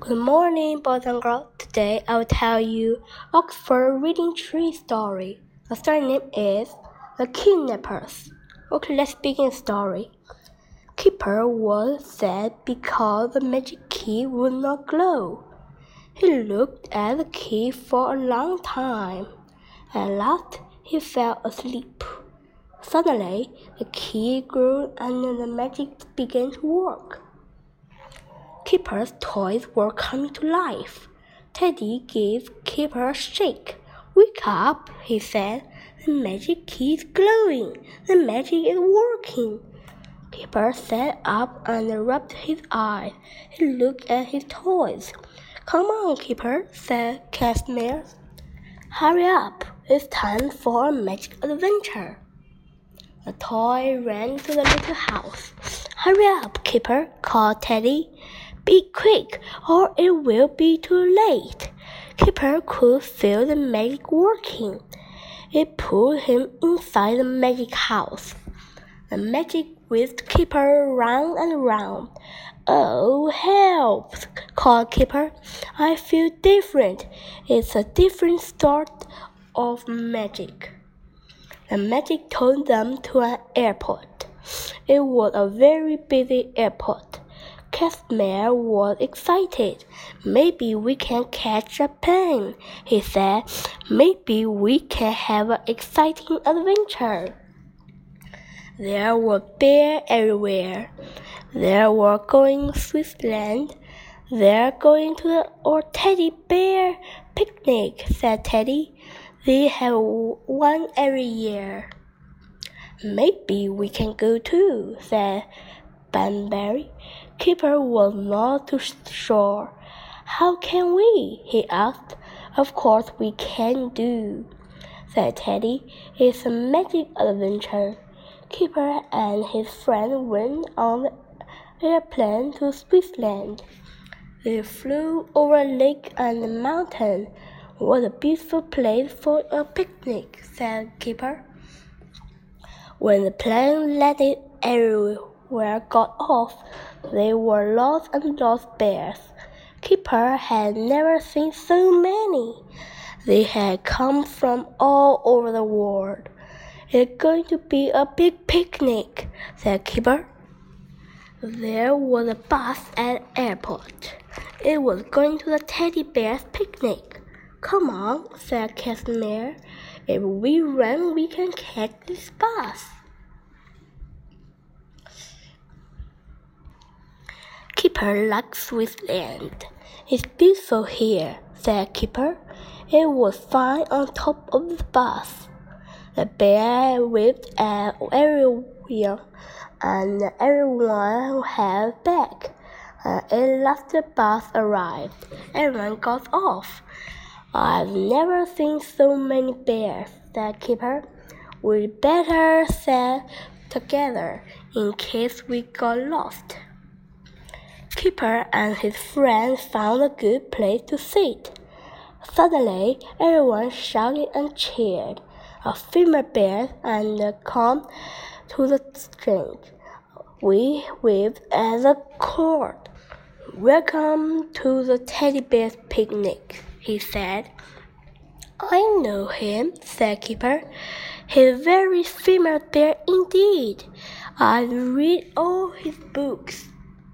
Good morning, boys and girls. Today I will tell you Oxford Reading Tree story. The story name is The Kidnappers. Okay, let's begin the story. Keeper was sad because the magic key would not glow. He looked at the key for a long time. At last, he fell asleep. Suddenly, the key grew and the magic began to work. Keeper's toys were coming to life. Teddy gave Keeper a shake. "Wake up," he said. "The magic key is glowing. The magic is working." Keeper sat up and rubbed his eyes. He looked at his toys. "Come on, Keeper," said Casimir. "Hurry up. It's time for a magic adventure." The toy ran to the little house. "Hurry up, Keeper," called Teddy. "Be quick, or it will be too late." Keeper could feel the magic working. It pulled him inside the magic house. The magic whisked Keeper round and round. "Oh, help!" called Keeper. "I feel different. It's a different sort of magic." The magic took them to an airport. It was a very busy airport. Casimir was excited. "Maybe we can catch a plane," he said. "Maybe we can have an exciting adventure." There were bears everywhere. They were going to Switzerland. "They're going to the teddy bear picnic," said Teddy. "They have one every year." "Maybe we can go too," said Banbury. Keeper was not too sure. "How can we?" he asked. "Of course we can do," said Teddy. "It's a magic adventure." Keeper and his friend went on the airplane to Switzerland. They flew over a lake and a mountain. "What a beautiful place for a picnic," said Keeper. When the plane landed, everywhere got off. There were lots and lots of bears. Keeper had never seen so many. They had come from all over the world. "It's going to be a big picnic," said Keeper. There was a bus at the airport. It was going to the teddy bear's picnic. "Come on," said Casimir. "If we run, we can catch this bus." Keeper liked Switzerland. "It's beautiful here," said Keeper. It was fine on top of the bus. The bear whipped everywhere, and everyone held back. At last the bus arrived. Everyone got off. "I've never seen so many bears," said Keeper. "We'd better stay together in case we got lost." Keeper and his friends found a good place to sit. Suddenly, everyone shouted and cheered. A female bear and come to the string. We waved at the cord. "Welcome to the teddy bear's picnic," he said. "I know him," said Keeper. "He's a very female bear indeed. I've read all his books."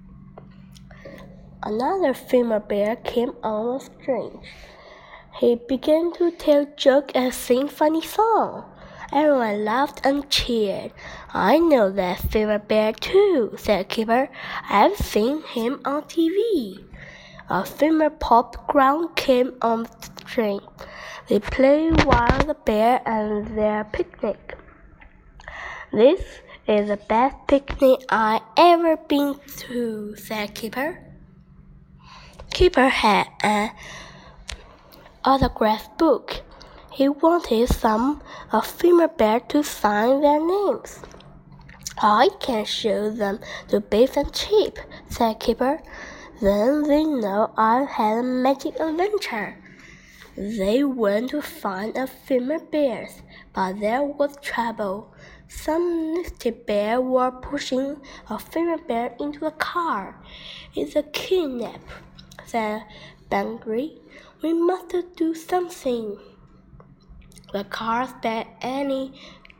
Another female bear came on the string. He began to tell jokes and sing funny songs. Everyone laughed and cheered. "I know that female bear too," said Keeper. "I've seen him on TV." A female pop ground came on the string. They played while the bear and their picnic. "This is the best picnic I've ever been to," said Keeper. Keeper had an autograph book. He wanted some female bear to sign their names. "I can show them to Beef and Chip," said Keeper. "Then they know I've had a magic adventure." They went to find a female bear, but there was trouble. Some nasty bears were pushing a female bear into a car. "It's a kidnap," said Bunbury. "We must do something." The car sped anyway.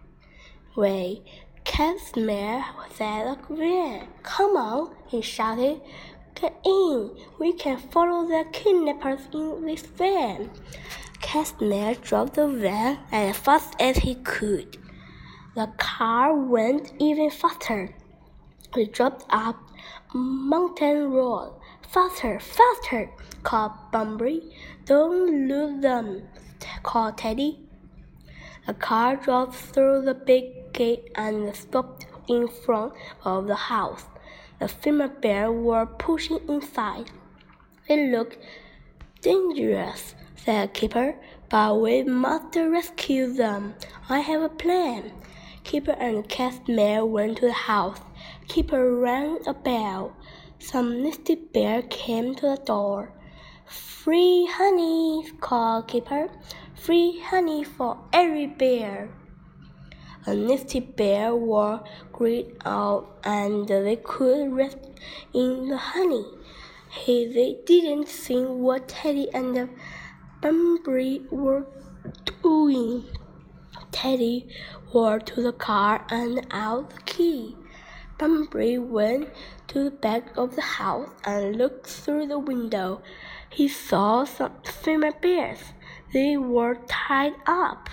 Casimir said again. "Come on," he shouted. "Get in. We can follow the kidnappers in this van." Casimir drove the van as fast as he could. The car went even faster. It dropped up Mountain Road. "Faster, faster!" called Bunbury. "Don't lose them," called Teddy. The car drove through the big gate and stopped in front of the house. The female bears were pushing inside. "They look dangerous," said Keeper, "but we must rescue them. I have a plan." Keeper and Casimir went to the house. Keeper rang a bell. Some nasty bear came to the door. "Free honey," called Keeper. "Free honey for every bear." A nasty bear were great out and they could rest in the honey. They didn't see what Teddy and Bunbury were doing. Teddy wore to the car and out the key. Bunbury went to the back of the house and looked through the window. He saw some female bears. They were tied up.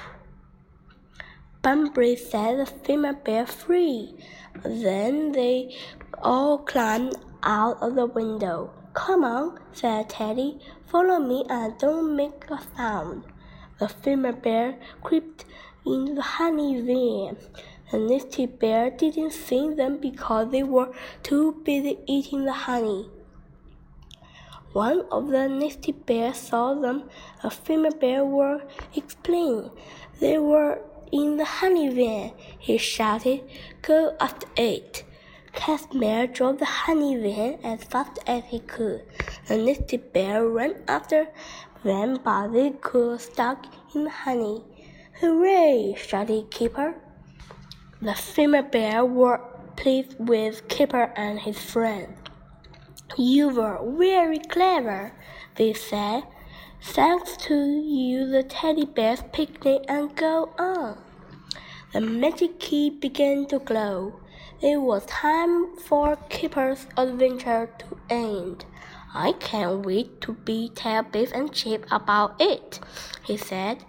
Bunbury set the female bear free. Then they all climbed out of the window. "Come on," said Teddy. "Follow me and don't make a sound." The female bear crept into the honey van. The nasty bear didn't see them because they were too busy eating the honey. One of the nasty bears saw them. The female bear were explaining. They were in the honey van. He shouted, "Go after it." Casimir drove the honey van as fast as he could. The nasty bear ran after them, but they got stuck in the honey. "Hooray!" shouted Keeper. The female bear were pleased with Keeper and his friend. "You were very clever," they said. "Thanks to you, the teddy bears picnic and go on." The magic key began to glow. It was time for Keeper's adventure to end. "I can't wait to tell Biff and Chip about it," he said.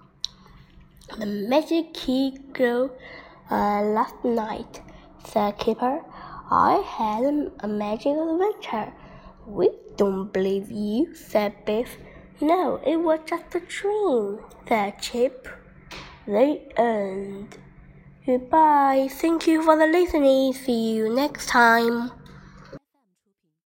"The magic key glowed last night," said Keeper. "I had a magic adventure." "We don't believe you," said Biff. "No, it was just a dream," said Chip. The end. Goodbye. Thank you for listening. See you next time.